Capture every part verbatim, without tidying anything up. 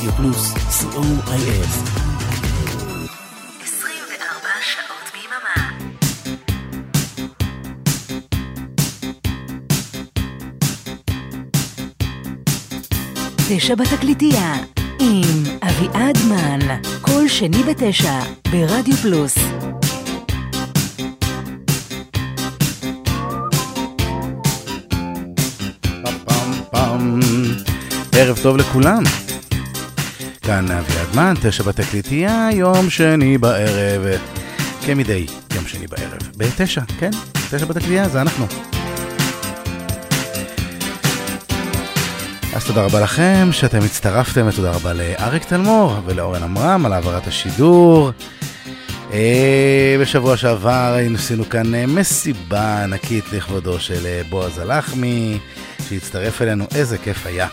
רדיו פלוס, סי או איי אל. עשרים וארבע שעות ביממה. תשע בתקליטייה עם אביעד מן, כל שני בתשע ברדיו פלוס. ערב טוב לכולם, כאן אביעד מן, תשע בתקליטייה, יום שני בערב, כמדי יום שני בערב, בתשע, כן, תשע בתקליטייה, זה אנחנו. אז תודה רבה לכם שאתם הצטרפתם, ותודה רבה לאריק תלמור ולאורן אמרם על העברת השידור. בשבוע שעבר עשינו כאן מסיבה ענקית לכבודו של בועז הלחמי שהצטרף אלינו, איזה כיף היה.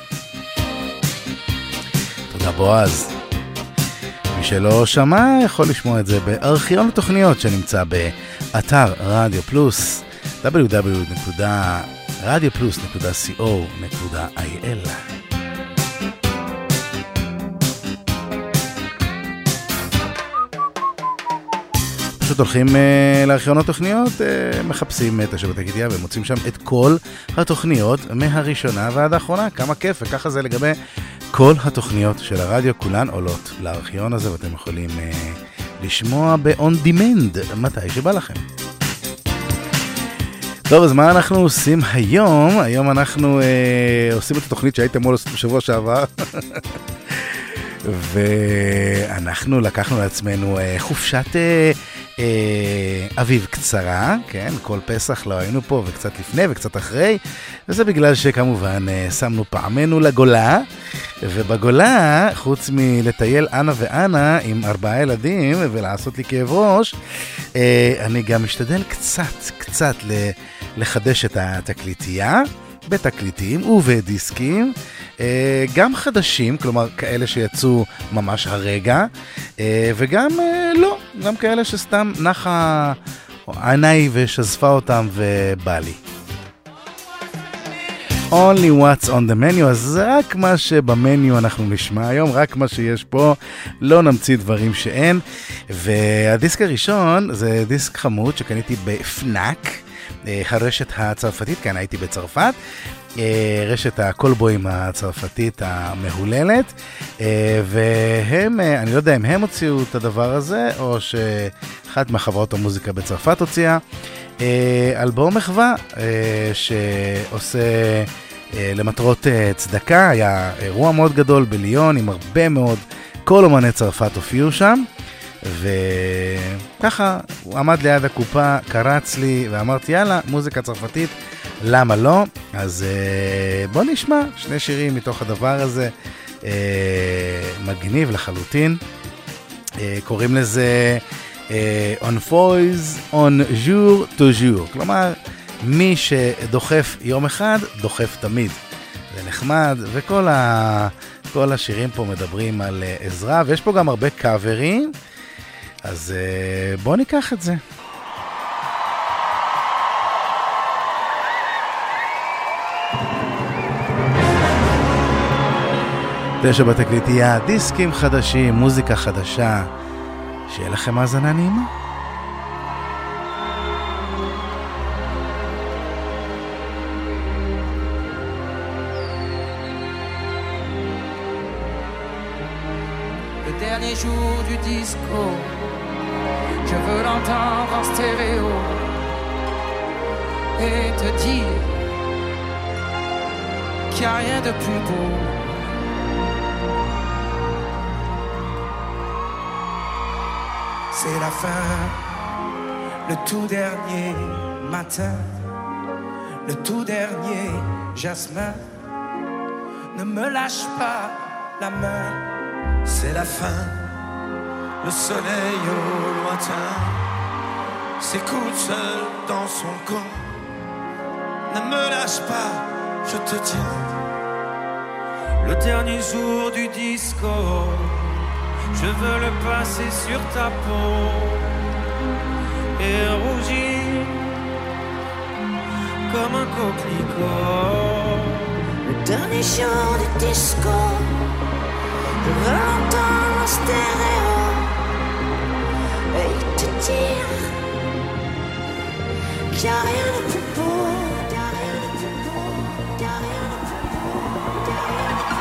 תודה בועז. מי שלא שמע יכול לשמוע את זה בארכיון התוכניות שנמצא באתר רדיו פלוס, דאבליו דאבליו דאבליו נקודה רדיו פלוס נקודה סי או נקודה איי אל. פשוט הולכים uh, לארכיונות תוכניות, uh, מחפשים את תשע בתקליטייה ומוצאים שם את כל התוכניות מהראשונה ועד האחרונה. כמה כיף, וככה זה לגבי כל התוכניות של הרדיו, כולן עולות לארכיון הזה ואתם יכולים uh, לשמוע ב-on demand מתי שבא לכם. טוב, אז מה אנחנו עושים היום? היום אנחנו uh, עושים את התוכנית שהייתם מול בשבוע שעבר ואנחנו לקחנו לעצמנו uh, חופשת uh, uh, אביב קצרה, כן? כל פסח לא היינו פה, וקצת לפני וקצת אחרי, וזה בגלל שכמובן uh, שמנו פעמנו לגולה, ובגולה, חוץ מלטייל אנה ואנה עם ארבעה ילדים ולעשות לי כאב ראש, uh, אני גם משתדל קצת, קצת ל- לחדש את התקליטייה, בתקליטים ובדיסקים, גם חדשים, כלומר כאלה שיצאו ממש הרגע, וגם לא, גם כאלה שסתם נחה עיניי ושזפה אותם ובא לי. Only what's on the menu, אז זה רק מה שבמניו אנחנו נשמע היום, רק מה שיש פה, לא נמציא דברים שאין. והדיסק הראשון זה דיסק חמוד שקניתי בפנאק, הרשת הצרפתית, כאן הייתי בצרפת, רשת הקולבויים הצרפתית המהוללת, והם, אני לא יודע אם הם הוציאו את הדבר הזה, או שאחת מהחברות המוזיקה בצרפת הוציאה, אלבום מחווה שעושה למטרות צדקה. היה אירוע מאוד גדול בליון עם הרבה מאוד, כל אומני צרפת הופיעו שם, וככה הוא עמד ליד הקופה, קרץ לי ואמרתי יאללה, מוזיקה צרפתית, למה לא? אז בוא נשמע שני שירים מתוך הדבר הזה, מגניב לחלוטין. קוראים לזה On Foils On Jour to Jour, כלומר מי שדוחף יום אחד דוחף תמיד. זה נחמד, וכל ה... כל השירים פה מדברים על עזרה, ויש פה גם הרבה קאברים, אז בוא ניקח את זה. תשע בתקליטייה, דיסקים חדשים, מוזיקה חדשה, שיהיה לכם האזנה נעימה. Dernier jour du disco, je veux l'entendre en stéréo et te dire qu'il n'y a rien de plus beau. C'est la fin, le tout dernier matin, le tout dernier jasmin. Ne me lâche pas la main. C'est la fin, le soleil au lointain s'écoute seul dans son coin. Ne me lâche pas, je te tiens. Le dernier jour du disco, je veux le passer sur ta peau et rougir comme un coquelicot. Le dernier jour du disco, Je veux l'entendre en stéréo et te dire qu'il n'y a rien de plus beau, qu'il n'y a rien de plus beau, qu'il n'y a rien de plus beau, qu'il n'y a rien de plus beau.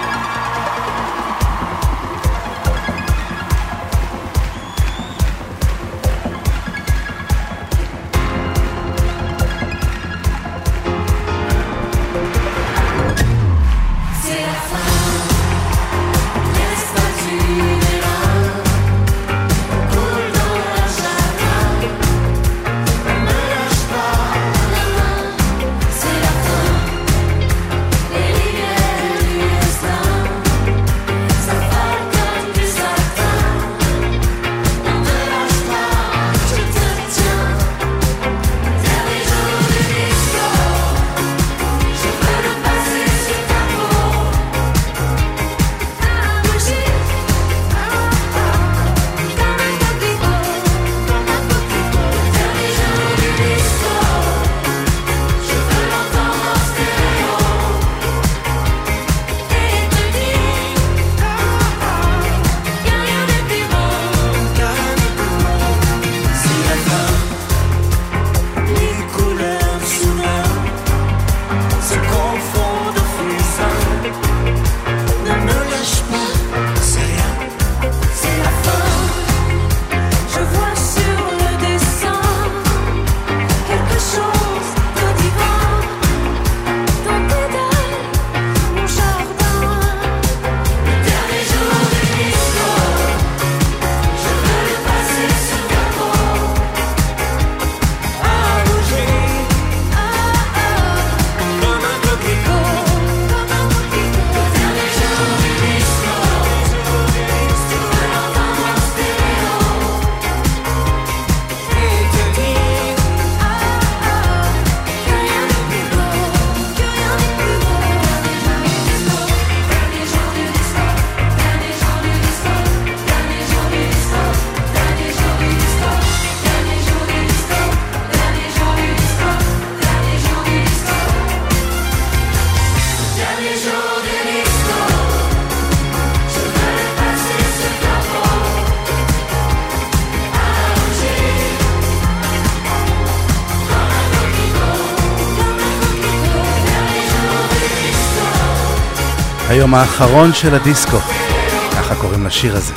היום האחרון של הדיסקו, ככה קוראים לשיר הזה.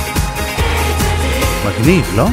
מגניב, לא?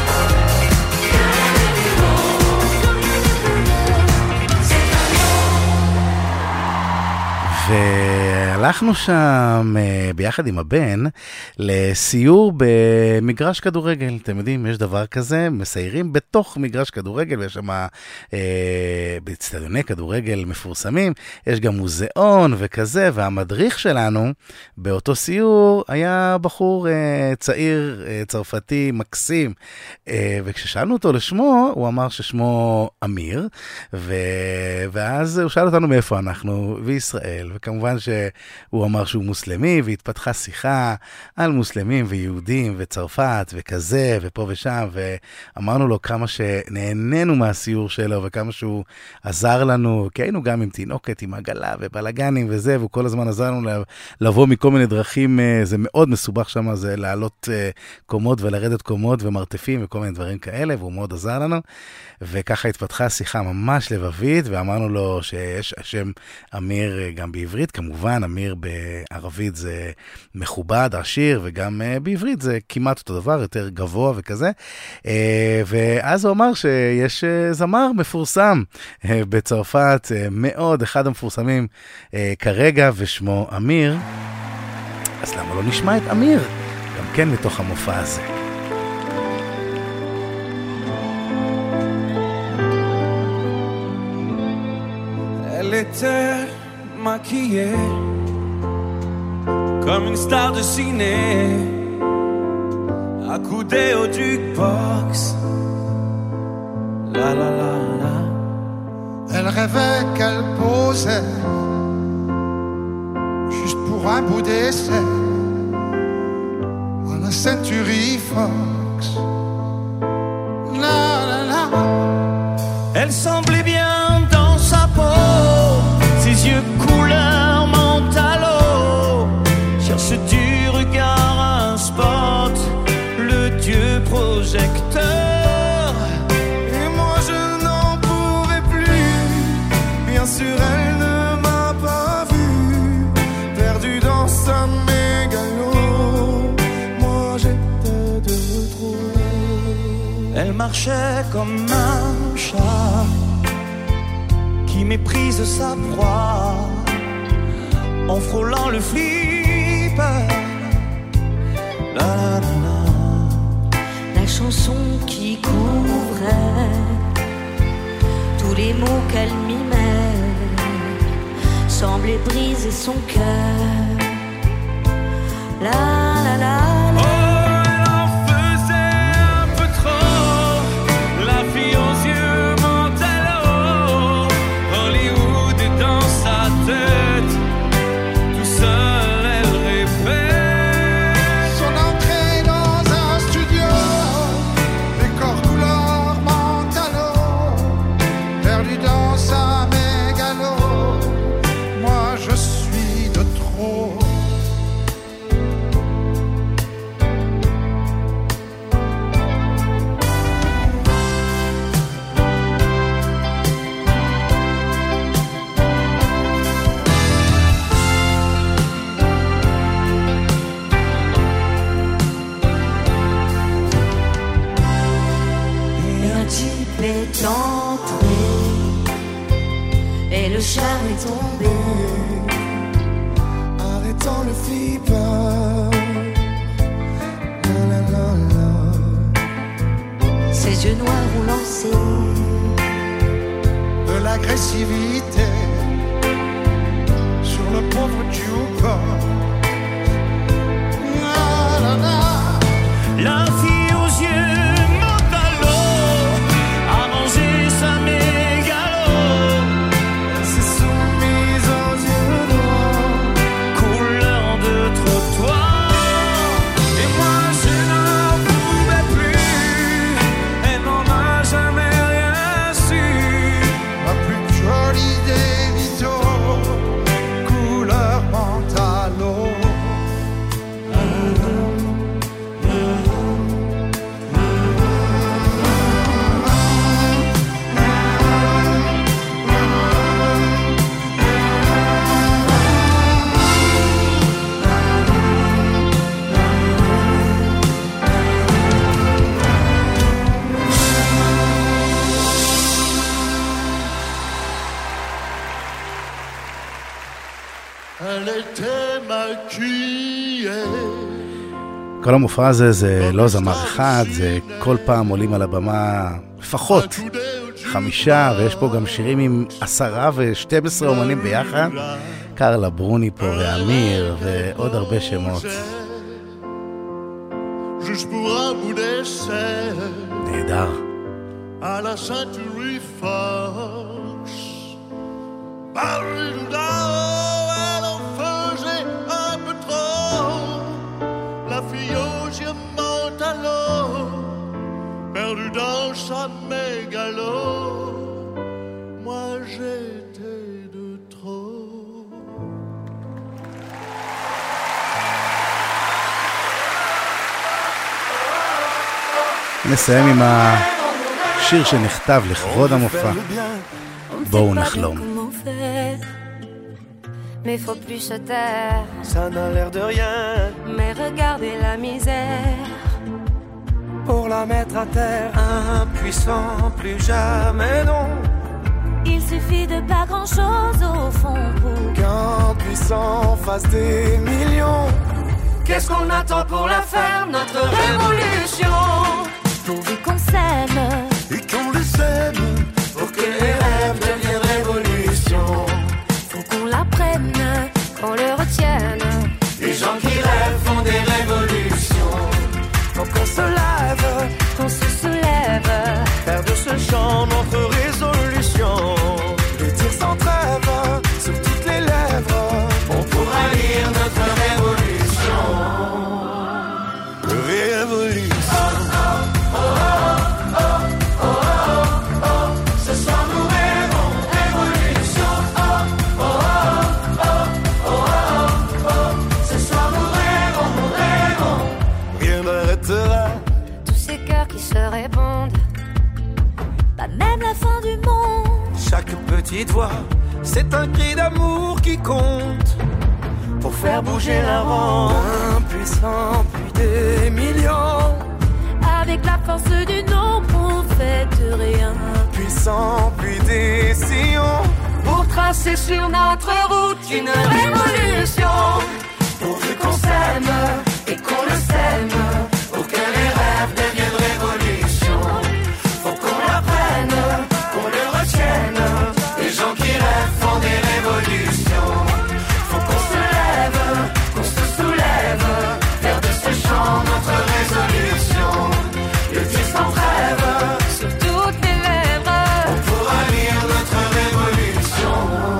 והלכנו שם ביחד עם הבן לסיור במגרש כדורגל. אתם יודעים, יש דבר כזה, מסיירים בתוך מגרש כדורגל, ויש שם אה, באצטדיוני כדורגל מפורסמים, יש גם מוזיאון וכזה, והמדריך שלנו באותו סיור היה בחור אה, צעיר, אה, צרפתי, מקסים, אה, וכששאלנו אותו לשמו, הוא אמר ששמו אמיר, ו... ואז הוא שאל אותנו מאיפה אנחנו, וישראל, וכמובן שהוא אמר שהוא מוסלמי, והתפתחה שיחה על מוסלמים ויהודים וצרפת וכזה ופה ושם, ואמרנו לו כמה שנהנינו מהסיור שלו וכמה שהוא עזר לנו, כי היינו גם עם תינוקת, עם עגלה ובלגנים וזה, והוא כל הזמן עזר לנו לבוא מכל מיני דרכים, זה מאוד מסובך שם, זה לעלות קומות ולרדת קומות ומרתפים וכל מיני דברים כאלה, והוא מאוד עזר לנו, וככה התפתחה שיחה ממש לבבית, ואמרנו לו שיש השם אמיר גם בעברית, כמובן אמיר בערבית זה מכובד, עשיר, וגם בעברית זה כמעט אותו דבר, יותר גבוה וכזה, ואז הוא אמר שיש זמר מפורסם בצרפת, מאוד, אחד המפורסמים כרגע, ושמו אמיר, אז למה לא נשמע את אמיר, גם כן מתוך המופע הזה. Elle était maquillée comme une star de ciné, accoudée au jukebox. La la la la. Elle rêvait qu'elle posait juste pour un bout d'essai à la Century Fox. La la la. Elle semblait bien dans sa peau, ses yeux couleur menthe à l'eau. Cherche-tu marchait comme un chat qui méprise sa proie en frôlant le flipper. La, la, la, la. La chanson qui couvrait tous les mots qu'elle mimait semblait briser son cœur. La la la la. Le charme est tombé, arrêtons le flipper. La, la, la, la. Ses yeux noirs ont lancé de l'agressivité sur le pauvre jukebox. La, la, la. La fille aux yeux mentalo a mangé sa mégalo. כל המופע הזה זה לא זמר אחד, זה כל פעם עולים על הבמה לפחות חמישה, ויש פה גם שירים עם עשרה ושתים עשרה אומנים ביחד, קרלה ברוני פה ואמיר ועוד הרבה שמות. נהדר. À la Century Fox, Paris là-haut, elle en faisait un peu trop. La fille aux yeux mentalo, perdue dans sa mégalo. Moi j'étais de trop. נסיים עם השיר שנכתב לכבוד המופע. בואו נחלום. Mais faut plus se taire. Ça n'a l'air de rien. Mais regardez la misère. Pour la mettre à terre, impuissant, plus jamais non. Il suffit de pas grand chose au fond pour qu'un puissant fasse des millions. Qu'est-ce qu'on attend pour la faire, notre révolution? Pourvu qu'on s'aime et qu'on les aime, pour que les rêves deviennent révolution. Faut qu'on l'apprenne, qu'on le retienne. Les gens qui rêvent font des révolutions. Faut qu'on se lève, qu'on se soulève, faire de ce chant notre résolution. Les tirs sans trêve sur toutes les lèvres. On pourra lire notre révolution. Révolution. Se répondent, pas même la fin du monde. Chaque petite voix, c'est un cri d'amour qui compte pour faire bouger la ronde. Impuissant, puis des millions. Avec la force du non, on fait rien. Puissant, puis décision, pour tracer sur notre route une révolution. Pourvu qu'on s'aime et qu'on le sème, pour que les rêves deviennent révolution. Faut qu'on l'apprenne, qu'on le retienne. Les gens qui rêvent font des révolutions. Faut qu'on se lève, qu'on se soulève, faire de ce chant notre résolution. Le dire sans trêve, sur toutes les lèvres, on pourra lire notre révolution.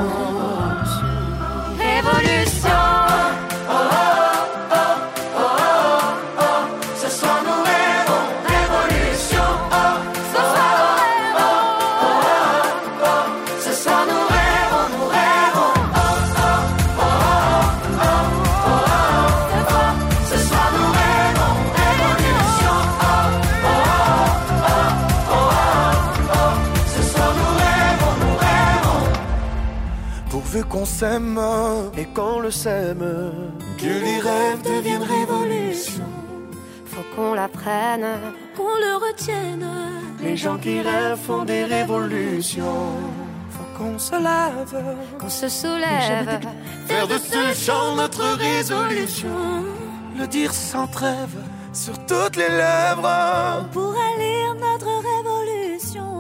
Révolution. Oh oh oh oh oh oh. Ce soir nous rêvons révolution. Oh, ce soir oh oh oh oh. Ce soir nous rêvons, nous rêvons. Oh oh oh oh oh oh. Ce soir nous rêvons révolution. Oh oh oh oh oh. Ce soir nous rêvons, nous rêvons. pourvu qu'on s'aime et qu'on le sème, que les rêves deviennent révolution. Faut qu'on l'apprenne, qu'on le retienne. Les gens qui rêvent font des révolutions. Faut qu'on se lève, qu'on se soulève, faire de ce chant notre résolution. Le dire sans trêve, sur toutes les lèvres, on pourra lire notre révolution.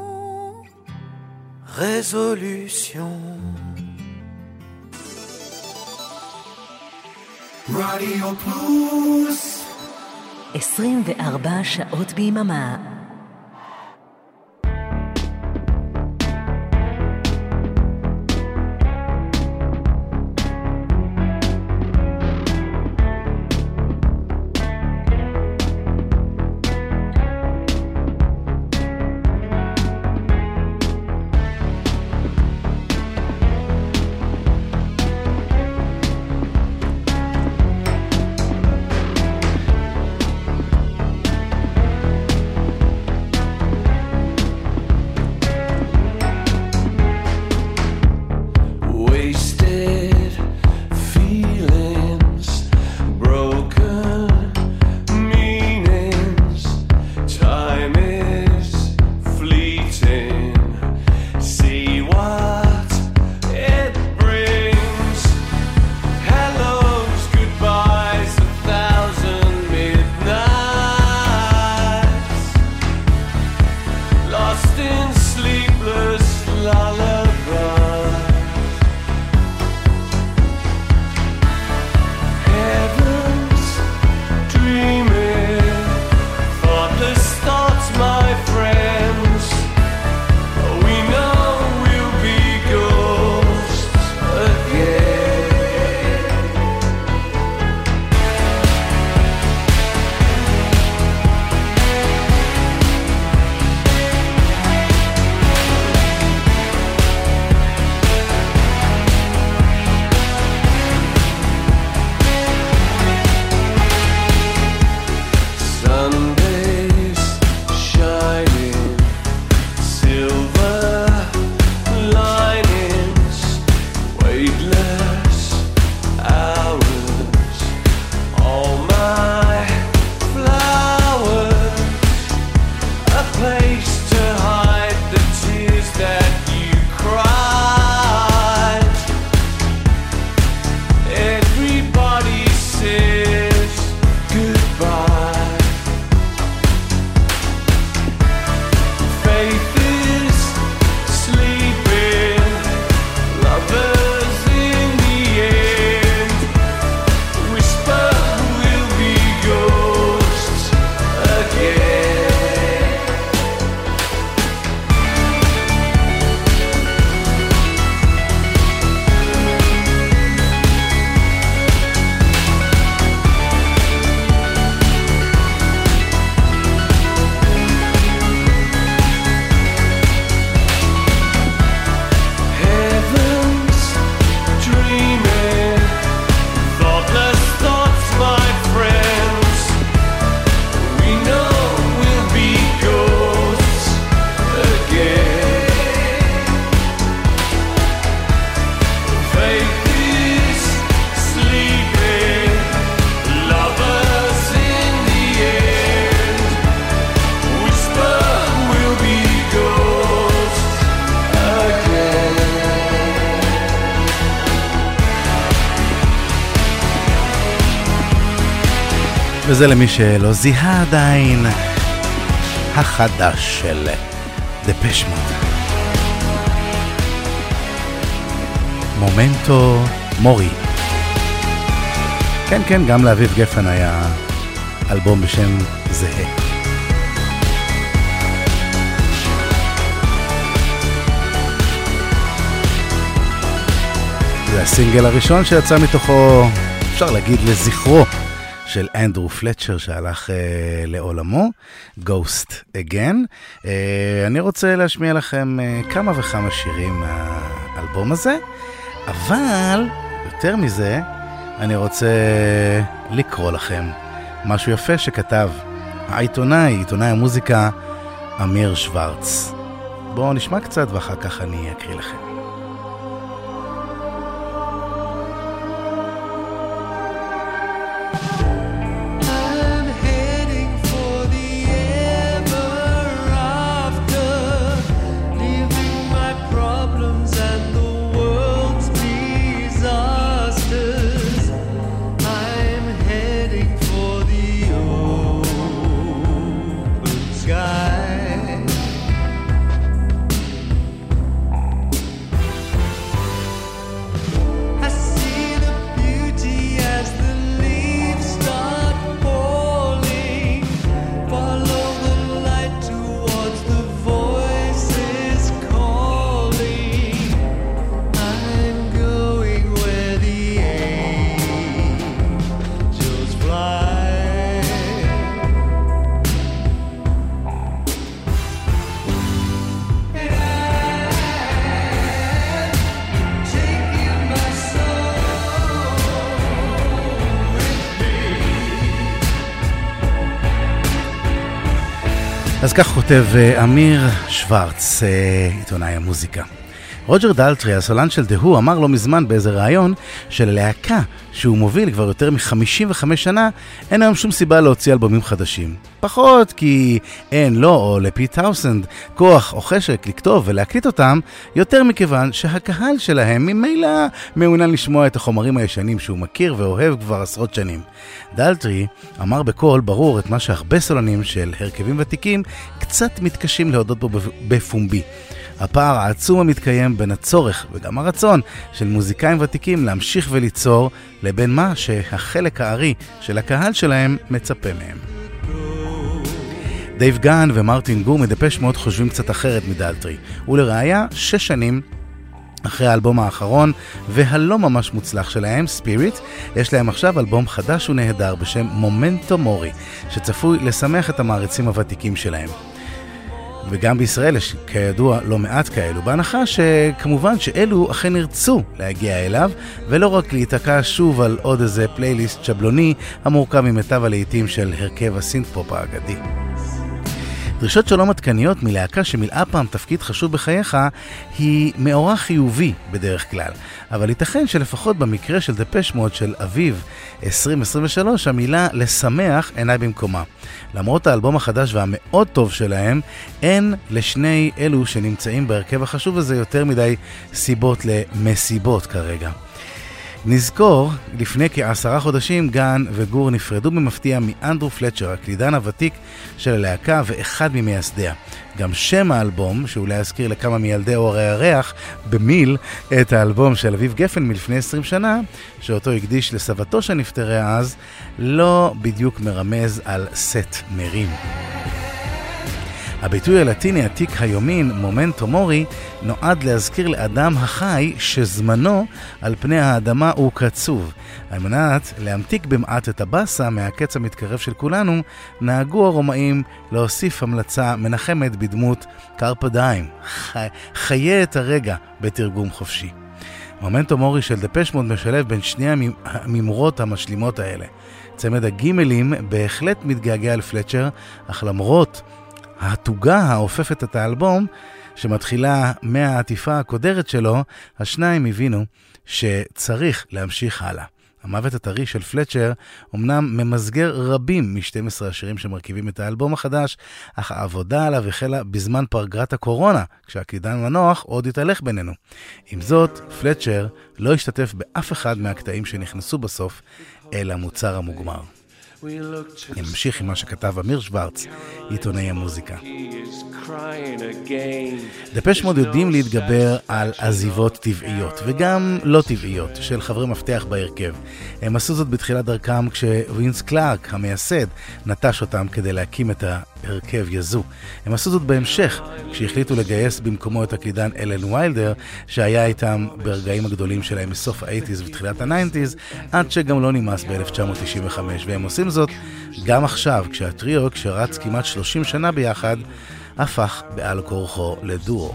Résolution. רדיו פלוס עשרים וארבע שעות ביממה. וזה למי שלא זיהה עדיין, החדש של דפש מוד. מומנטו מורי. כן, כן, גם לאביב גפן היה אלבום בשם זהה. זה הסינגל הראשון שיצא מתוכו, אפשר להגיד לזכרו, של אנדרו פלצ'ר שהלך אה, לעולמו, Ghost Again. אה, אני רוצה להשמיע לכם אה, כמה וכמה שירים מהאלבום הזה, אבל יותר מזה, אני רוצה לקרוא לכם משהו יפה שכתב העיתונאי, עיתונאי המוזיקה, אמיר שוורץ. בואו נשמע קצת ואחר כך אני אקריא לכם. אז כך כותב אמיר שוורץ, עיתונאי המוזיקה. רוג'ר דלטרי, הסולן של דהו, אמר לא מזמן באיזה רעיון שללהקה שהוא מוביל כבר יותר מ-חמישים וחמש שנה, אין היום שום סיבה להוציא אלבומים חדשים. פחות כי אין לו או לפיט טאוסנד כוח או חשק לכתוב ולהקליט אותם, יותר מכיוון שהקהל שלהם ממילא מעוניין לשמוע את החומרים הישנים שהוא מכיר ואוהב כבר עשרות שנים. דלטרי אמר בקול ברור את מה שהרבה סולנים של הרכבים ותיקים קצת מתקשים להודות בו בפומבי. הפער העצום המתקיים בין הצורך וגם הרצון של מוזיקאים ותיקים להמשיך וליצור לבין מה שהחלק הארי של הקהל שלהם מצפה מהם. דייב גן ומרטין גור מדפש מוד חושבים קצת אחרת מדלטרי, ולראיה שש שנים אחרי האלבום האחרון והלא ממש מוצלח שלהם, ספיריט, יש להם עכשיו אלבום חדש ונהדר בשם מומנטו מורי, שצפוי לשמח את המעריצים הוותיקים שלהם. וגם בישראל יש כידוע לא מעט כאלו, בהנחה שכמובן שאלו אכן ירצו להגיע אליו, ולא רק להתעקע שוב על עוד איזה פלייליסט שבלוני המורכב ממיטב הלעיתים של הרכב הסינט-פופ האגדי. דרישות שלום עדכניות מלהקה שמילאה פעם תפקיד חשוב בחייך היא מאורע חיובי בדרך כלל, אבל ייתכן שלפחות במקרה של דפש מוד של אביב עשרים עשרים ושלוש המילה לשמח אינה במקומה. למרות האלבום החדש והמאוד טוב שלהם, אין לשני אלו שנמצאים בהרכב החשוב הזה יותר מדי סיבות למסיבות כרגע. נזכור, לפני כעשרה חודשים גן וגור נפרדו במפתיע מאנדרו פלצ'ר, הקלידן הוותיק של הלהקה ואחד ממייסדיה. גם שם האלבום, שאולי אזכיר לכמה מילדי אור הירח במיל את האלבום של אביב גפן מלפני עשרים שנה, שאותו הקדיש לסבתו שנפטרה אז, לא בדיוק מרמז על סט מרים. הביטוי הלטיני עתיק היומין, מומנטו מורי, נועד להזכיר לאדם החי שזמנו על פני האדמה הוא קצוב. על מנת להמתיק במעט את הבאסה מהקץ המתקרב של כולנו, נהגו הרומאים להוסיף המלצה מנחמת בדמות קרפה דיים, חי... חיה את הרגע בתרגום חופשי. מומנטו מורי של דפש מוד משלב בין שני הממורות המשלימות האלה. צמד הגימלים בהחלט מתגעגע לפלצ'ר, אך למרות התוגה האופפת את האלבום, שמתחילה מהעטיפה הקודרת שלו, השניים הבינו שצריך להמשיך הלאה. המוות הטרי של פלצ'ר אמנם ממסגר רבים מ-שנים עשר השירים שמרכיבים את האלבום החדש, אך העבודה עליו החלה בזמן פגרת הקורונה, כשהקלידן מנוח עוד התהלך בינינו. עם זאת, פלצ'ר לא השתתף באף אחד מהקטעים שנכנסו בסוף אל המוצר המוגמר. אני ממשיך עם מה שכתב אמיר שוורץ, עיתונאי המוזיקה. דפש מוד יודעים להתגבר על עזיבות טבעיות וגם לא טבעיות של חברי מפתח בהרכב. הם עשו זאת בתחילת דרכם כשווינס קלארק המייסד נטש אותם כדי להקים את ההרכב יזו. הם עשו זאת בהמשך כשהחליטו לגייס במקומו את הקלידן אלן ויילדר שהיה איתם ברגעים הגדולים שלהם מסוף ה-שמונים ותחילת ה-תשעים עד שגם לא נמאס ב-אלף תשע מאות תשעים וחמש, והם עושים זאת גם עכשיו כשהטריו שרץ כמעט שלושים שנה ביחד הפך בעל כורחו לדואו.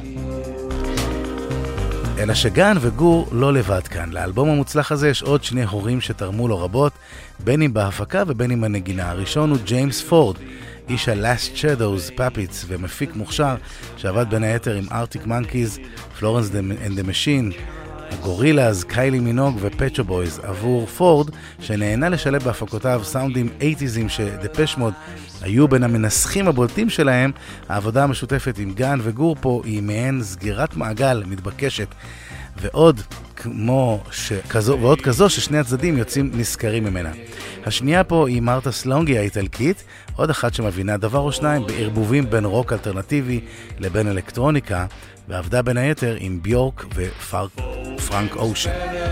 אלא שגן וגור לא לבד כאן. לאלבום המוצלח הזה יש עוד שני הורים שתרמו לו רבות, בין אם בהפקה ובין אם הנגינה. הראשון הוא ג'יימס פורד, איש ה-Last Shadows, פאפיץ ומפיק מוכשר שעבד בין היתר עם ארטיק מנקיז, פלורנס אנד דה משין, הגורילאז, קיילי מינוג ופצ'ו בויז. עבור פורד, שנהנה לשלב בהפקותיו סאונדים אייטיזים שדפש מוד היו בין המנסחים הבולטים שלהם, העבודה המשותפת עם גן וגור פה היא מעין סגירת מעגל מתבקשת, ועוד כמו שכזו, ועוד כזו ששני הצדדים יוצאים נזכרים ממנה. השנייה פה היא מרתה סלונגי האיטלקית, עוד אחת שמבינה דבר או שניים בערבובים בין רוק אלטרנטיבי לבין אלקטרוניקה, ועבדה בין היתר עם ביורק ופרנק אושן.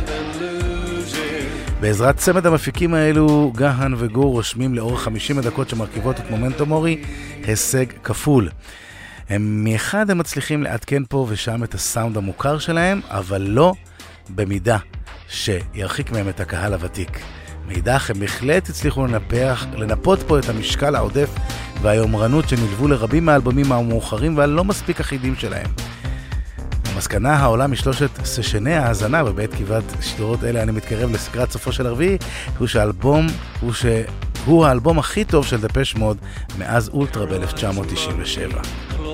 בעזרת צמד המפיקים האלו, גהן וגור רושמים לאורך חמישים הדקות שמרכיבות את מומנטו מורי הישג כפול. הם מאחד הם מצליחים לעדכן פה ושם את הסאונד המוכר שלהם, אבל לא במידה שירחיק מהם את הקהל הוותיק. מאידך הם בהחלט הצליחו לנפח, לנפות פה את המשקל העודף והיומרנות שנלוו לרבים מהאלבומים המאוחרים והלא מספיק אחידים שלהם. המסקנה העולה משלושת סשני ההאזנה בבית כבעת שידורות אלה אני מתקרב לסקרת סופו של הרביעי, הוא שהאלבום הוא שהוא האלבום הכי טוב של דפש מוד מאז אולטרה ב-אלף תשע מאות תשעים ושבע.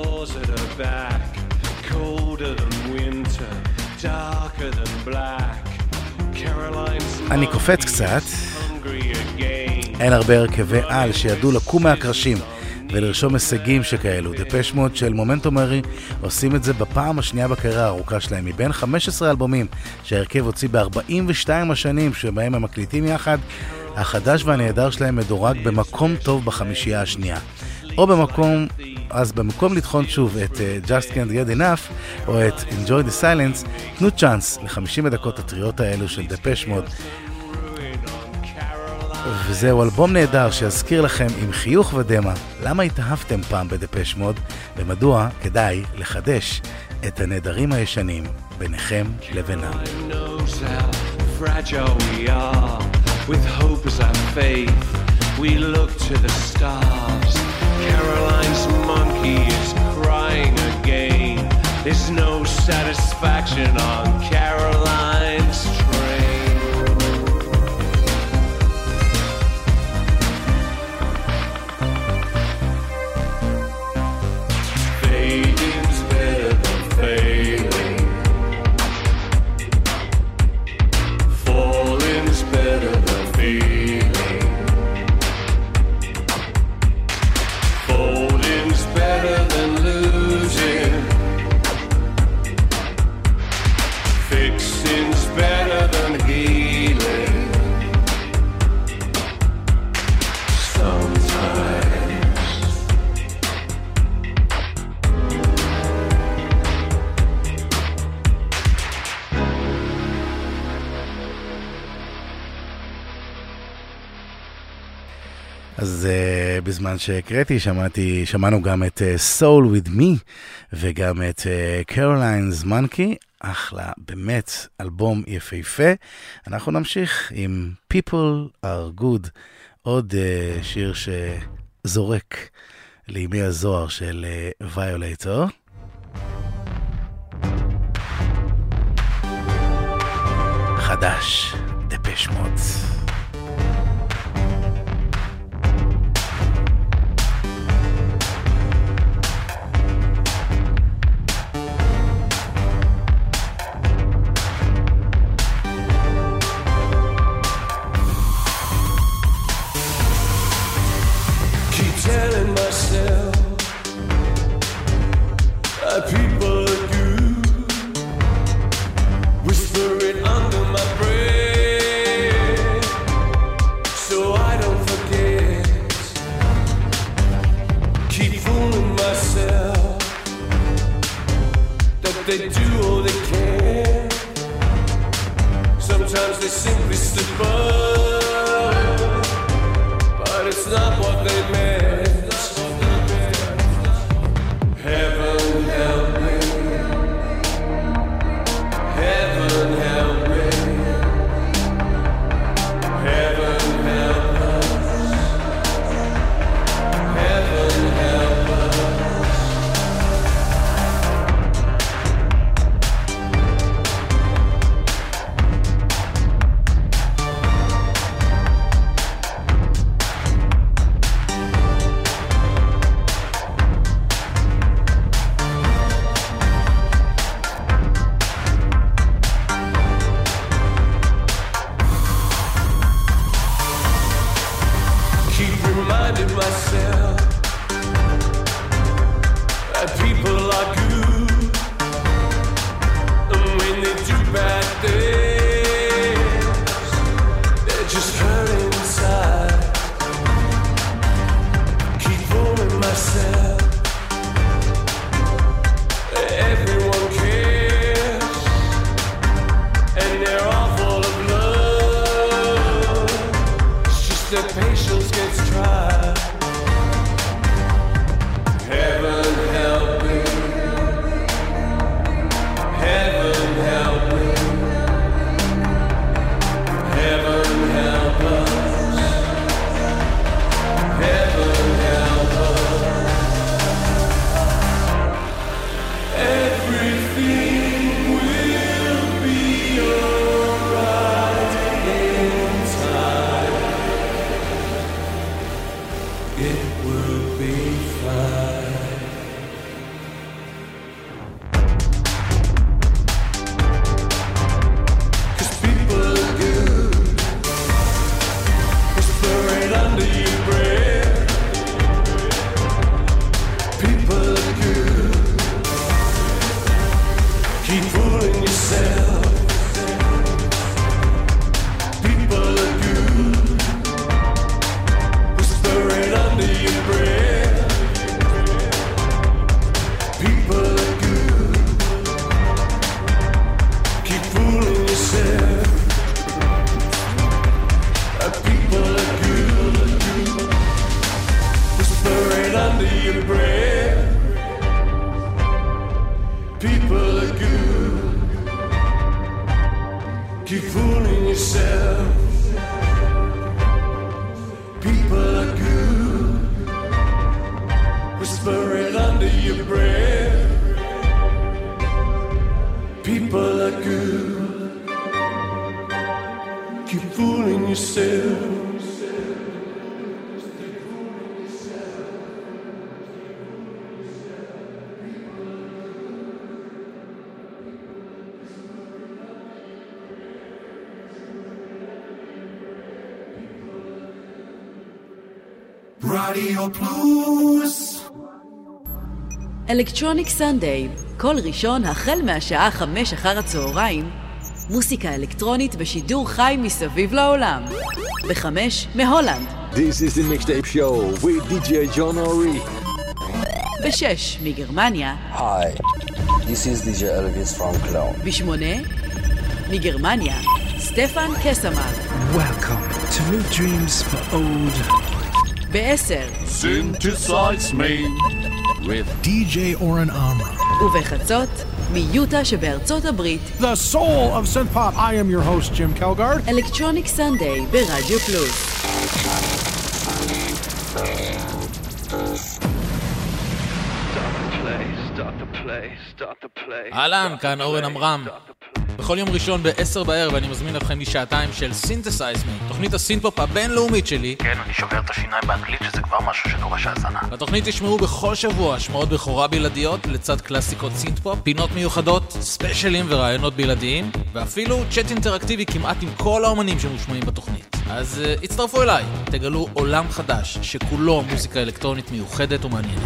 אני קופץ קצת. אין הרבה הרכבי על שידעו לקום מהקרשים ולרשום הישגים שכאלו. דפש מוד של מומנטו מורי עושים את זה בפעם השנייה בקריירה הארוכה שלהם. מבין חמישה עשר אלבומים שהרכב הוציא ב-ארבעים ושתיים השנים שבהם הם מקליטים יחד, החדש והנהדר שלהם מדורג במקום טוב בחמישייה השנייה. או במקום, אז במקום לתחון שוב את uh, Just Can't Get Enough או את Enjoy the Silence, תנו צ'אנס ל-חמישים הדקות הטריות האלו של דפש מוד. וזהו אלבום נהדר שיזכיר לכם עם חיוך ודמה למה התאהבתם פעם בדפש מוד ומדוע כדאי לחדש את הנהדרים הישנים ביניכם לבינם. With hope as our faith, we look to the stars. Caroline's monkey is crying again. There's no satisfaction on Caroline's train. Fading's better than failing. Falling's better than feeling. Folding's better than losing. Fixing's better than healing. Sometimes אז uh, בזמן שהקראתי שמעתי, שמענו גם את uh, Soul With Me וגם את uh, Caroline's Monkey, אחלה, באמת אלבום יפהפה. אנחנו נמשיך עם People Are Good, עוד uh, שיר שזורק לימי הזוהר של uh, Violator. חדש, דפש מוד. telling myself that people are good, whisper it under my breath so I don't forget. they do all they can. Sometimes they simply slip up, but it's not what they meant. Heaven help me, heaven help me, heaven help us, heaven help us. Myself that people are good, and when they do bad things, they're just hurt inside. Keep fooling myself, everyone cares, and they're all full of love. It's just that patience gets tried. Heaven help me, heaven help me, heaven help us, heaven help us. Everything will be alright in time. It will be fine. רדיו פלוס אלקטרוניק סנדיי, כל ראשון החל מהשעה חמש אחר הצהריים, מוסיקה אלקטרונית בשידור חי מסביב לעולם. בחמש מהולנד. This is the mixtape show with די ג'יי John Ori. בשש מגרמניה. Hi, this is די ג'יי Elvis from Cologne. בשמונה מגרמניה, סטפן קסמן. Welcome to New Dreams for Old. בעשר Synthesize me with די ג'יי Oren Amram. ובחצות מיוטה שבארצות הברית. The soul of synth pop. I am your host Jim Kelgard. אלקטרוניק סנדיי ברדיו פלוס. אהלן, כאן אורן אמרם. בכל יום ראשון ב-עשר בערב אני מזמין אתכם לשעתיים של Synthesize Me, תוכנית הסינפופ הבינלאומית שלי. כן, אני שובר את השיניים באנגלית שזה כבר משהו שדורש האזנה. בתוכנית תשמעו בכל שבוע השמעות בכורה בלעדיות לצד קלאסיקות סינתפופ, פינות מיוחדות, ספיישלים ורעיונות בלעדיים, ואפילו צ'אט אינטראקטיבי כמעט עם כל האומנים שמושמעים בתוכנית. אז uh, הצטרפו אליי, תגלו עולם חדש שכולו מוזיקה אלקטרונית מיוחדת ומעניינת.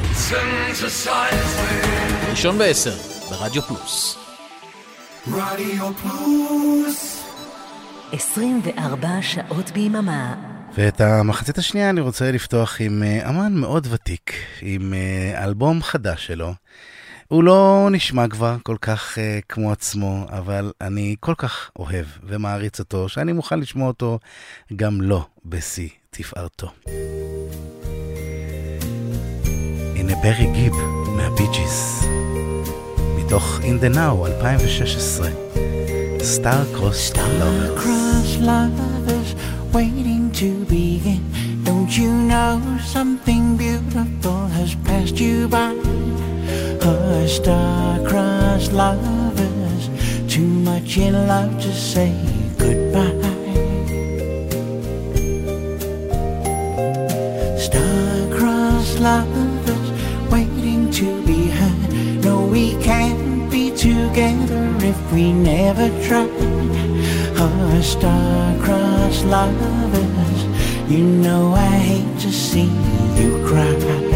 ראשון בעשר ברדיו פלוס. רדיו פלוס עשרים וארבע שעות ביממה. ואת המחצית השנייה אני רוצה לפתוח עם אמן מאוד ותיק, עם אלבום חדש שלו. הוא לא נשמע כבר כל כך uh, כמו עצמו, אבל אני כל כך אוהב ומעריץ אותו, שאני מוכן לשמוע אותו גם לא בשיא תפארתו. הנה ברי גיב מהבי ג'יז, מתוך In the Now אלפיים ושש עשרה, Star Crossed Lovers. Star-crossed lovers waiting to begin. Don't you know something beautiful has passed you by? Oh, star-crossed lovers, too much in love to say goodbye. Star-crossed lovers waiting to be heard. No, we can't be together if we never try. Oh, star-crossed lovers, you know I hate to see you cry.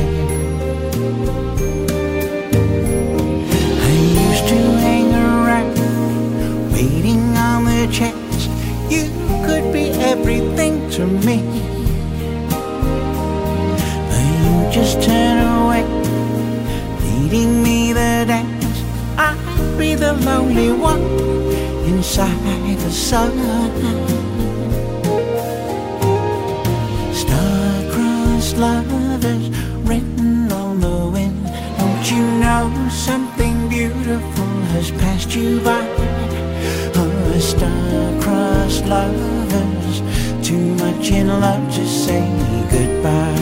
I used to hang around, waiting on the chance you could be everything to me. But you just turn away, leading me the dance. I'd be the lonely one inside the sun. Star-crossed lovers written on the wind. Don't you know something beautiful has passed you by? Oh, star-crossed lovers, too much in love to say goodbye.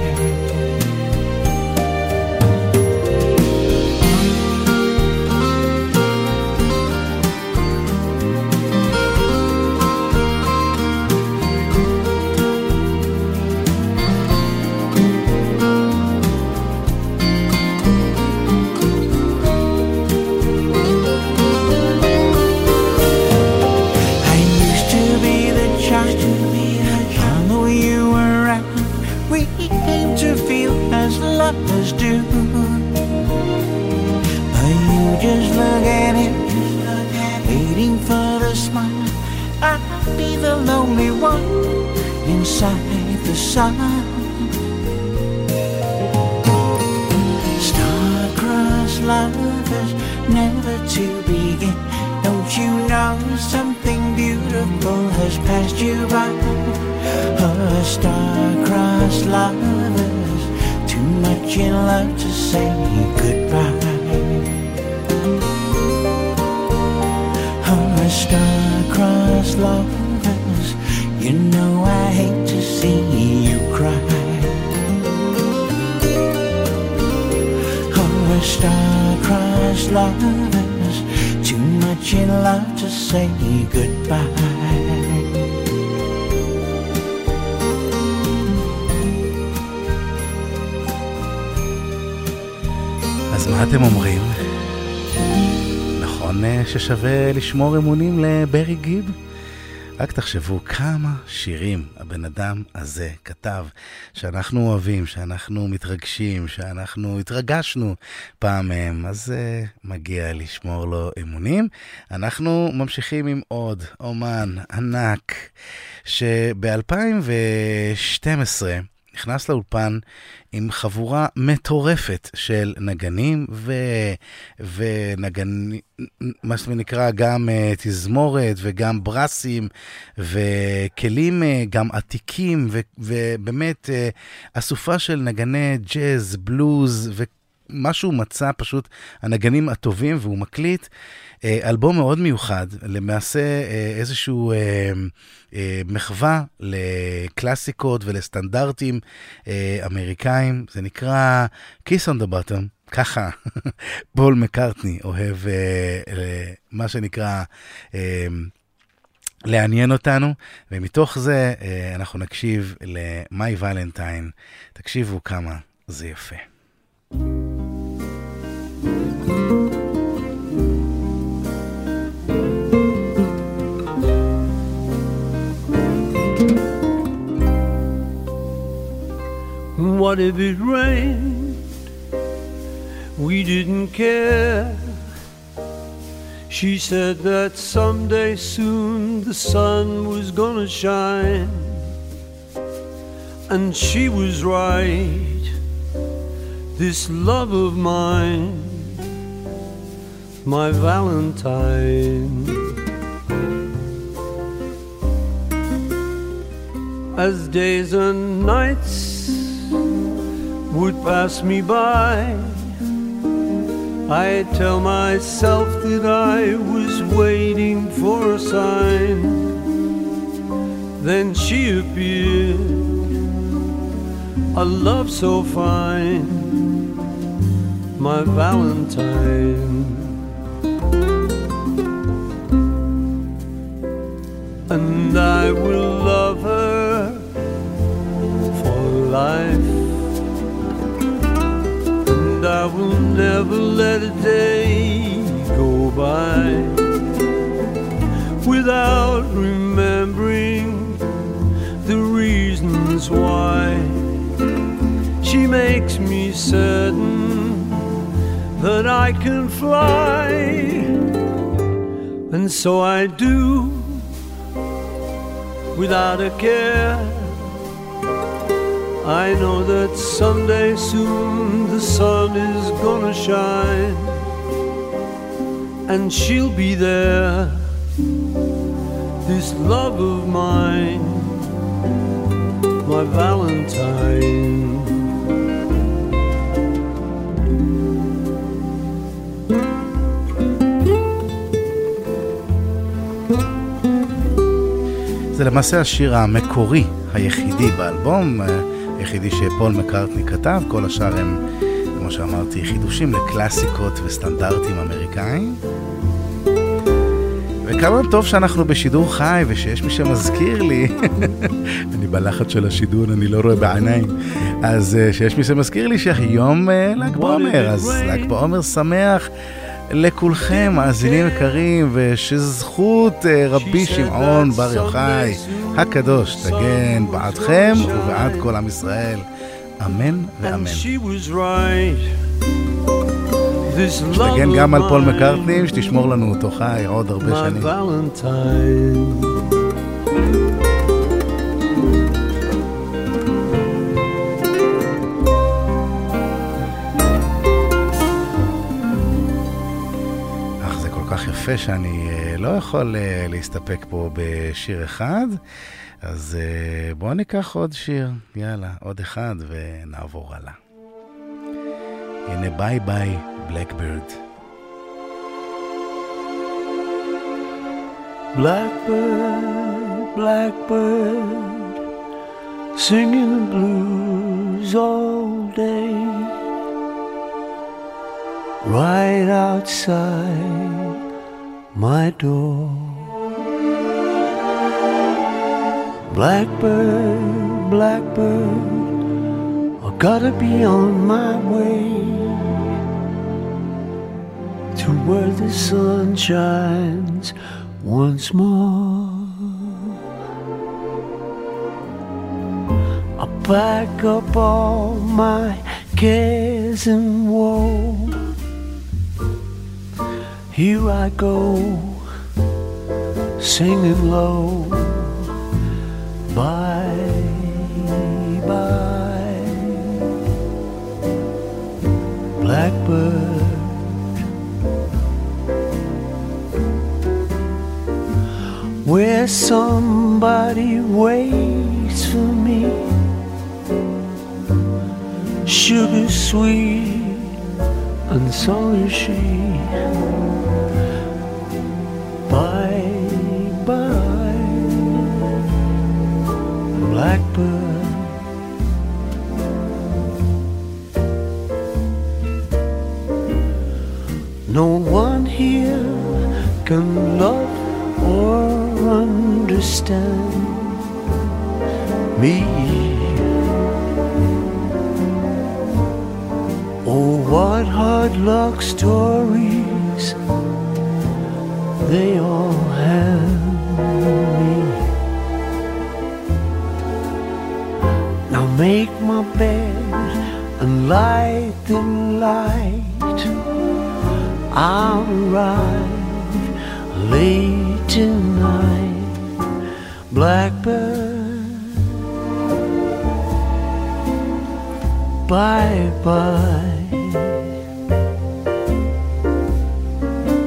Star-crossed lovers, never to begin. Don't you know something beautiful has passed you by? Oh, star-crossed lovers, too much in love to say goodbye. Oh, star-crossed lovers, you know I hate to see you cry. Oh, star-crossed lovers, too much in love to say goodbye. אז מה אתם אומרים? נכון ששווה לשמור אמונים לברי גיב? רק תחשבו כמה שירים הבן אדם הזה כתב, שאנחנו אוהבים, שאנחנו מתרגשים, שאנחנו התרגשנו פעם מהם, אז uh, מגיע לשמור לו אמונים. אנחנו ממשיכים עם עוד אומן ענק, שב-אלפיים ושתים עשרה נכנס לאולפן עם חבורה מטורפת של נגנים ו... ונגנים, מה שנקרא גם uh, תזמורת וגם ברסים וכלים uh, גם עתיקים ו... ובאמת uh, אסופה של נגני ג'אז, בלוז ומשהו מצא פשוט הנגנים הטובים, והוא מקליט אלבום מאוד מיוחד, למעשה איזשהו מחווה לקלאסיקות ולסטנדרטים אמריקאים, זה נקרא Kiss on the Bottom, ככה פול מקרטני אוהב מה שנקרא לעניין אותנו, ומתוך זה אנחנו נקשיב ל-My Valentine, תקשיבו כמה זה יפה. What if it rained? We didn't care. She said that someday soon the sun was gonna shine. And she was right. This love of mine my Valentine. As days and nights would pass me by, I tell myself that I was waiting for a sign. Then she appeared, a love so fine, my Valentine. And I will love her for life, and I will never let a day go by without remembering the reasons why. She makes me certain that I can fly, and so I do without a care. I know that someday soon the sun is gonna shine, and she'll be there, this love of mine, my Valentine. זה למעשה השיר המקורי היחידי באלבום, היחידי שפול מקארטני כתב. כל השאר הם, כמו שאמרתי, חידושים לקלאסיקות וסטנדרטים אמריקאים. וכמה טוב שאנחנו בשידור חי ושיש מי שמזכיר לי אני בלחץ של השידור, אני לא רואה בעיניים, אז שיש מי שמזכיר לי שהיום ל"ג בעומר, אז ל"ג בעומר שמח לכולכם, מאזינים יקרים, ושזכות רבי שמעון בר יוחאי הקדוש תגן בעדכם ובעד כל עם ישראל, אמן ואמן. שתגן גם על פול מקארטני, שתשמור לנו אותו חי עוד הרבה שנים. יפה שאני לא יכול להסתפק פה בשיר אחד, אז בואו ניקח עוד שיר, יאללה, עוד אחד ונעבור הלאה. הנה ביי ביי בלקבירד. Blackbird, blackbird, singing the blues all day, right outside my door. Blackbird, blackbird, I gotta be on my way to where the sun shines once more. I pack up all my cares and woe. Here I go, singing low, bye, bye, blackbird. Where somebody waits for me, sugar sweet, and so is she. Bye, bye, blackbird. No one here can love or understand me. Oh, what hard luck stories they all have me. Now make my bed and light the light. I'll arrive late tonight, blackbird. Bye bye.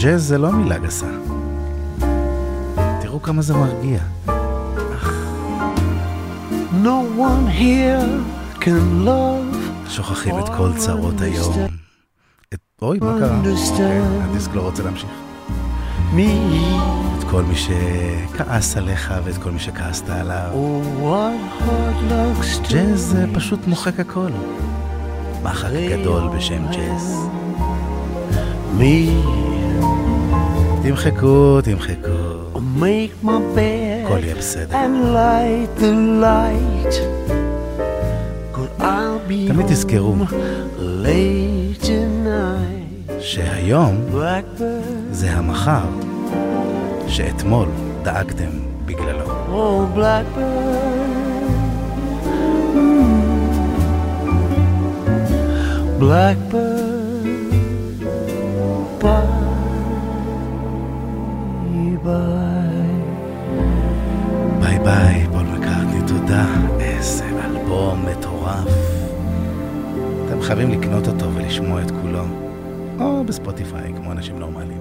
ג'אז זה לא מילה גסה. תראו כמה זה מרגיע. No one here can love. שוכחים את כל צרות היום. את... אוי, מה קרה? הדיסק לא רוצה להמשיך. Me. את כל מי שכעס עליך ואת כל מי שכעסת עליו. Oh, what hard looks to ג'אז זה פשוט מוחק הכל. מחק גדול בשם ג'אז. me. תמחקו, תמחקו. Make my bed הכל יהיה בסדר. and light the light. Good, I'll be תמיד תזכרו late tonight. שהיום Blackbird. זה המחר שאתמול דאגתם בגללו. Oh, blackbird. Blackbird, bye bye. ביי ביי, פול מקרטני, תודה. איזה אלבום מטורף. אתם חייבים לקנות אותו ולשמוע את כולו, או בספוטיפיי, כמו אנשים נורמליים.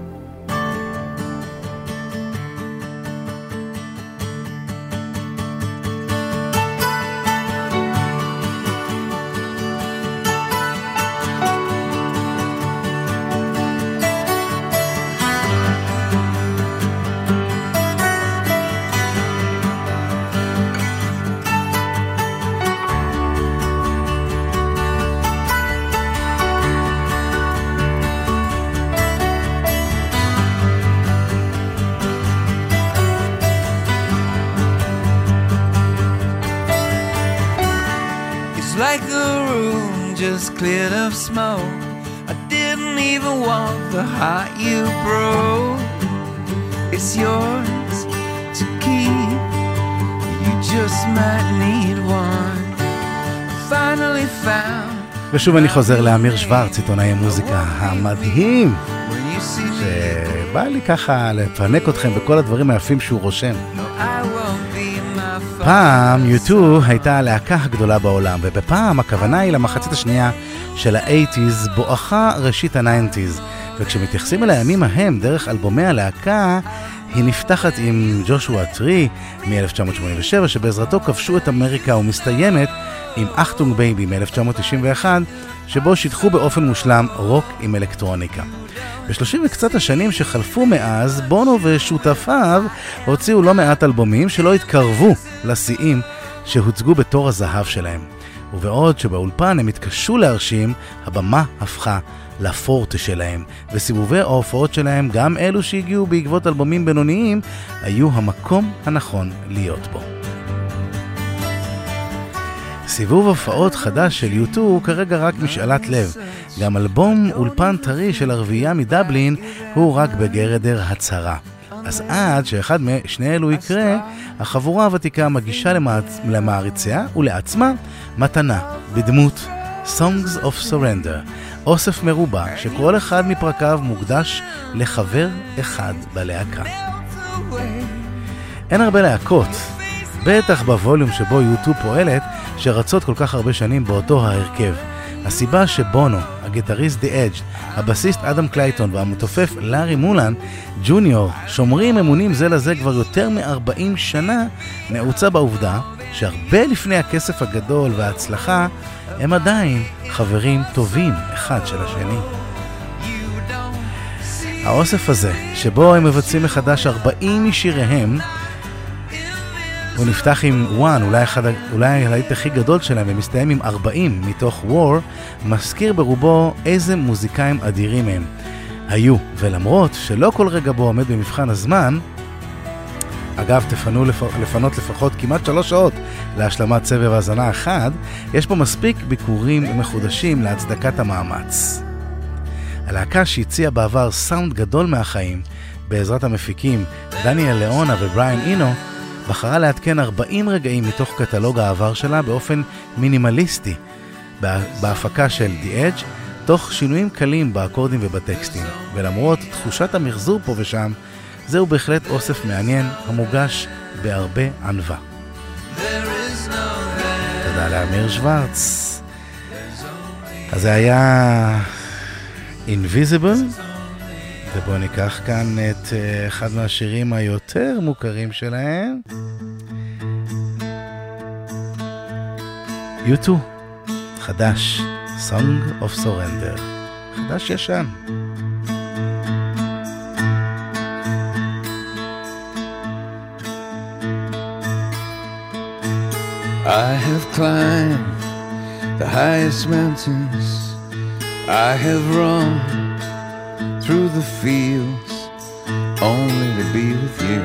Like the room just cleared of smoke. I didn't even want the heart you broke. It's yours to keep. You just might need one. Finally found. ושוב אני חוזר לאמיר שוורץ, עיתונאי המוזיקה המדהים, שבא לי ככה לפנק אתכם בכל הדברים היפים שהוא רושם. פעם יו טו הייתה הלהקה הגדולה בעולם, ובפעם הכוונה היא למחצית השנייה של ה-שמונים בואכה ראשית ה-תשעים, וכשמתייחסים אל הימים ההם דרך אלבומי הלהקה, היא נפתחת עם ג'ושוע טרי מ-אלף תשע מאות שמונים ושבע, שבעזרתו כבשו את אמריקה, ומסתיימת עם אחטונג בייבי מ-אלף תשע מאות תשעים ואחת, שבו שיתחו באופן מושלם רוק עם אלקטרוניקה. בשלושים וקצת השנים שחלפו מאז, בונו ושותפיו הוציאו לא מעט אלבומים שלא התקרבו לשיאים שהוצגו בתור הזהב שלהם. ובעוד שבאולפן הם התקשו להרשים, הבמה הפכה לפורטה שלהם, וסיבובי ההופעות שלהם, גם אלו שהגיעו בעקבות אלבומים בינוניים, היו המקום הנכון להיות בו. סיבוב הופעות חדש של יו טו הוא כרגע רק משאלת לב. גם אלבום אולפן טרי של הרביעייה מדבלין הוא רק בגרדר הצהרה. אז עד שאחד משני אלו יקרה, החבורה הוותיקה מגישה למעריציה ולעצמה מתנה בדמות Songs of Surrender, אוסף מרובע שכל אחד מפרקיו מוקדש לחבר אחד בלהקה. אין הרבה להקות, בטח בווליום שבו יו טו פועלת, שרצות כל כך הרבה שנים באותו ההרכב. הסיבה שבונו, הגיטריסט די אדג', הבסיסט אדם קלייטון והמתופף לארי מולן ג'וניור שומרים אמונים זה לזה כבר יותר מ-ארבעים שנה, נעוצה בעובדה שהרבה לפני הכסף הגדול וההצלחה הם עדיין חברים טובים אחד של השני. האוסף הזה שבו הם מבצעים מחדש ארבעים משיריהם, הוא נפתח עם וואן, אולי, אחד, אולי הלהיט הכי גדול שלהם, ומסתיים עם ארבעים מתוך וור, מזכיר ברובו איזה מוזיקאים אדירים הם היו. ולמרות שלא כל רגע בו עומד במבחן הזמן, אגב, תפנו לפ... לפנות לפחות כמעט שלוש שעות להשלמת סבב האזנה אחד, יש פה מספיק ביקורים מחודשים להצדקת המאמץ. הלהקה שהציעה בעבר סאונד גדול מהחיים, בעזרת המפיקים דניאל ליאונה ובריין אינו, בחרה להתקן ארבעים רגעים מתוך קטלוג העבר שלה באופן מינימליסטי בהפקה של די אדג', תוך שינויים קלים באקורדים ובטקסטים. ולמרות תחושת המחזור פה ושם, זהו בהחלט אוסף מעניין המוגש בהרבה ענווה. תודה לאמיר שוורץ. אז זה היה Invisible ובואו ניקח כאן את uh, אחד מהשירים היותר מוכרים שלהם. יו טו, חדש, Song of Surrender, חדש ישן. I have climbed the highest mountains, I have run through the fields only to be with you,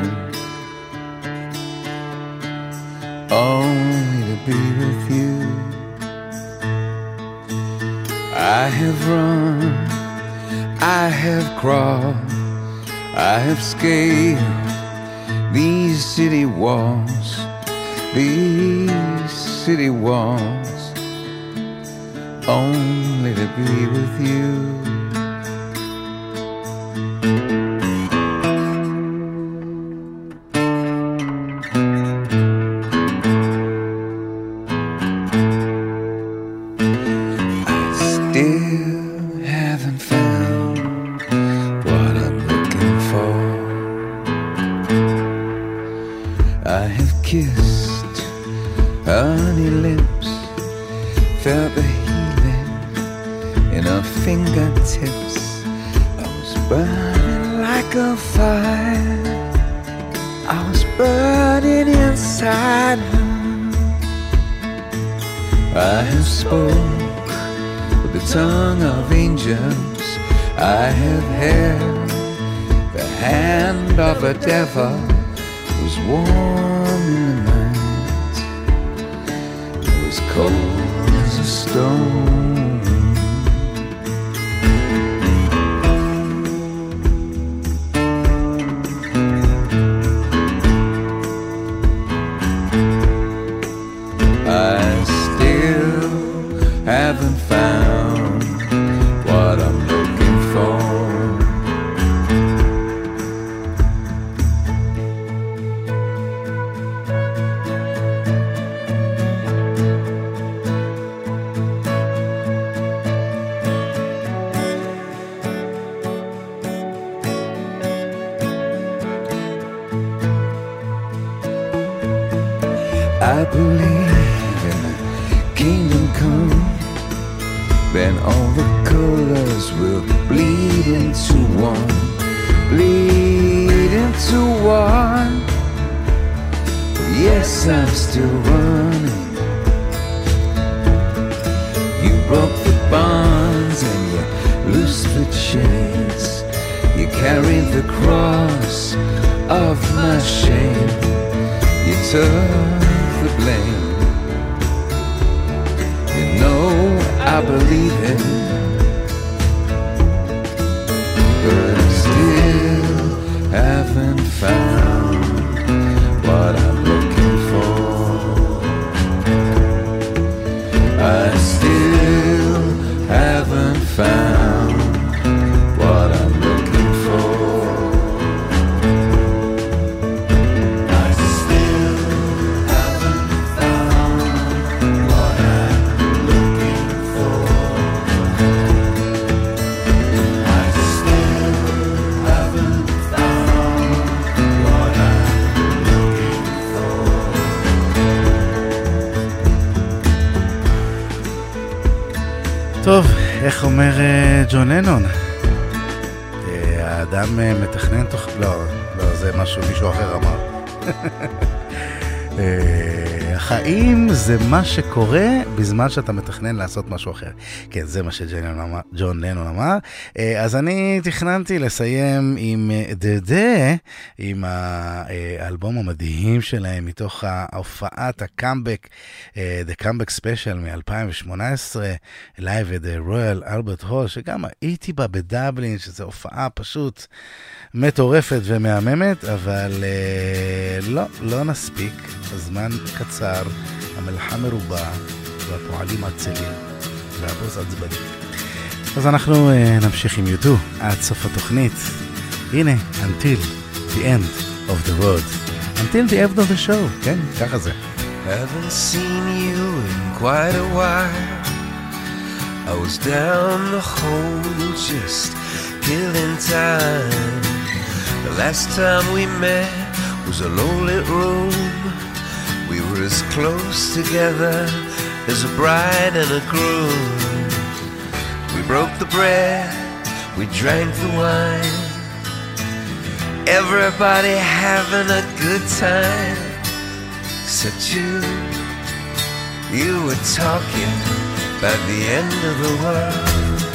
only to be with you. I have run, I have crawled, I have scaled these city walls, these city walls, only to be with you. I believe in a kingdom come, then all the colors will bleed into one, bleed into one. Yes, I'm still running. You broke the bonds and you loosed the chains. You carried the cross of my shame. You took the blame. You know I believe it, but I still haven't found what I'm looking for. I still haven't found what I'm looking for. טוב, איך אומר ג'ון לנון? האדם מתכנן תוך... לא, לא, זה משהו מישהו אחר אמר. החיים זה מה שקורה בזמן שאתה מתכנן לעשות משהו אחר. כן, זה מה שג'ון לנון אמר. אז אני תכננתי לסיים עם דדה, עם האלבום המדהים שלהם מתוך ההופעת הקאמבק, The Comeback Special מ-אלפיים שמונה עשרה, Live at the Royal Albert Hall, שגם הייתי בה בדבלין, שזו הופעה פשוט מטורפת ומהממת, אבל לא, לא נספיק. הזמן קצר, המלאכה מרובה והפועלים עצלים והבוס עצבני. אז אנחנו uh, נמשיך עם יו טו עד סוף התוכנית. הנה, Until the End of the Road. Until the End of the Show, כן, ככה זה. Haven't seen you in quite a while. I was down the hole just killing time. The last time we met was a low-lit room. We were as close together as a bride and a groom. We broke the bread, we drank the wine. Everybody having a good time, except you. You were talking about the end of the world.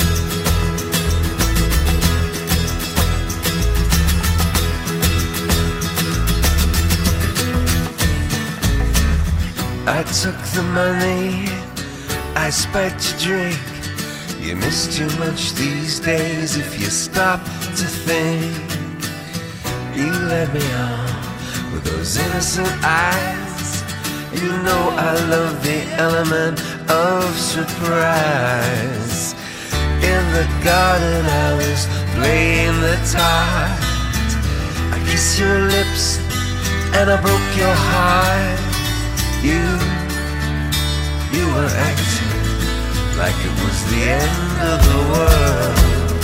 I took the money, I spiked your drink. You miss too much these days if you stop to think. You let me on with those innocent eyes. You know I love the element of surprise. In the garden I was playing the tart. I kissed your lips and I broke your heart. You, you were acting like it was the end of the world.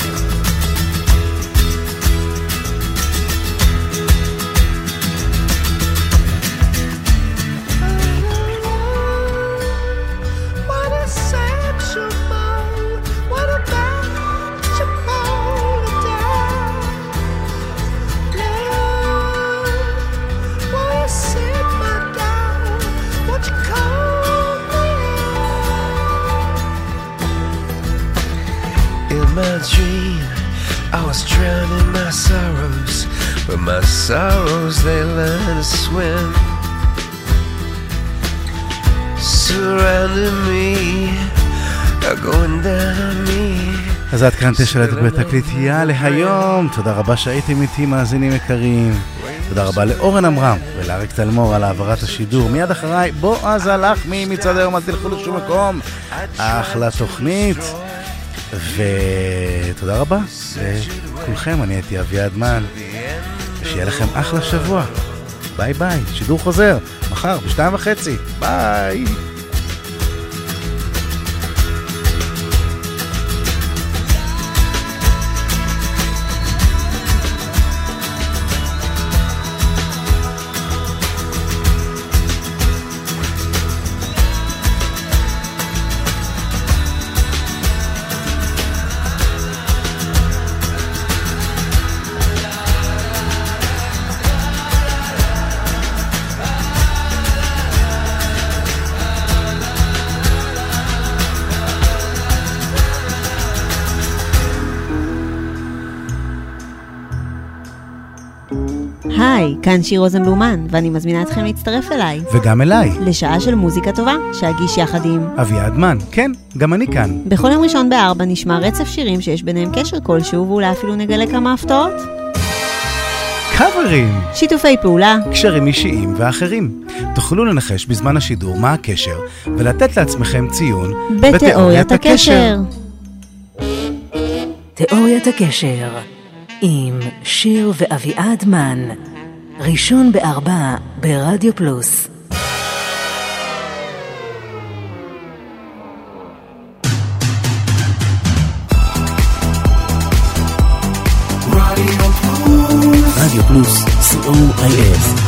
My dream, I was drowning my sorrows, but my sorrows, they learn to swim. Surrounding me, are going down on me. אז עד כאן תשע בתקליטייה להיום. תודה רבה שהייתם איתי מאזינים יקרים. תודה רבה לאורן אמרם ולאריק תלמור על העברת השידור. מיד אחריי בועז הלחמי מצד היום, אל תלכו לשום מקום. אחלה תוכנית. ותודה רבה לכולכם, אני הייתי אביעד מן, שיהיה לכם אחלה שבוע. ביי ביי, שידור חוזר מחר בשתיים וחצי. ביי. היי, כאן שיר רוזנבלומן, ואני מזמינה אתכם להצטרף אליי. וגם אליי. לשעה של מוזיקה טובה, שאגיש יחד עם אביעד מן. כן, גם אני כאן. בכל יום ראשון בארבע נשמע רצף שירים שיש ביניהם קשר כלשהו, ואולי אפילו נגלה כמה הפתעות. קאברים. שיתופי פעולה. קשרים אישיים ואחרים. תוכלו לנחש בזמן השידור מה הקשר, ולתת לעצמכם ציון בתיאוריית הקשר. תיאוריית הקשר. עם שיר ואביעד מן, ראשון בארבע ברדיו פלוס. רדיו פלוס, סי או איי אס